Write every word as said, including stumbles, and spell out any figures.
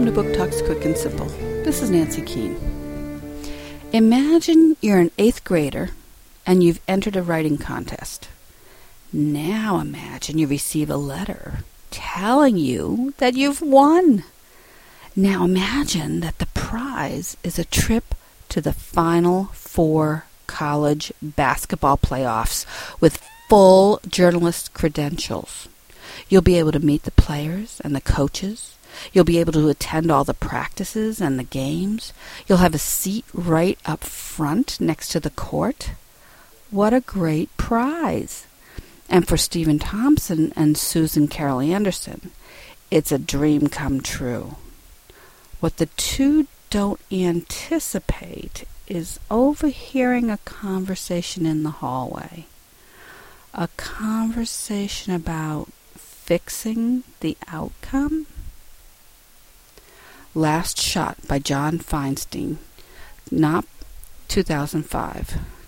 to Book Talks Quick and Simple. This is Nancy Keene. Imagine you're an eighth grader and you've entered a writing contest. Now imagine you receive a letter telling you that you've won. Now imagine that the prize is a trip to the Final Four college basketball playoffs with full journalist credentials. You'll be able to meet the players and the coaches. You'll be able to attend all the practices and the games. You'll have a seat right up front next to the court. What a great prize. And for Stephen Thompson and Susan Carol Anderson, it's a dream come true. What the two don't anticipate is overhearing a conversation in the hallway. A conversation about fixing the outcome? Last Shot by John Feinstein, Knopf, two thousand five.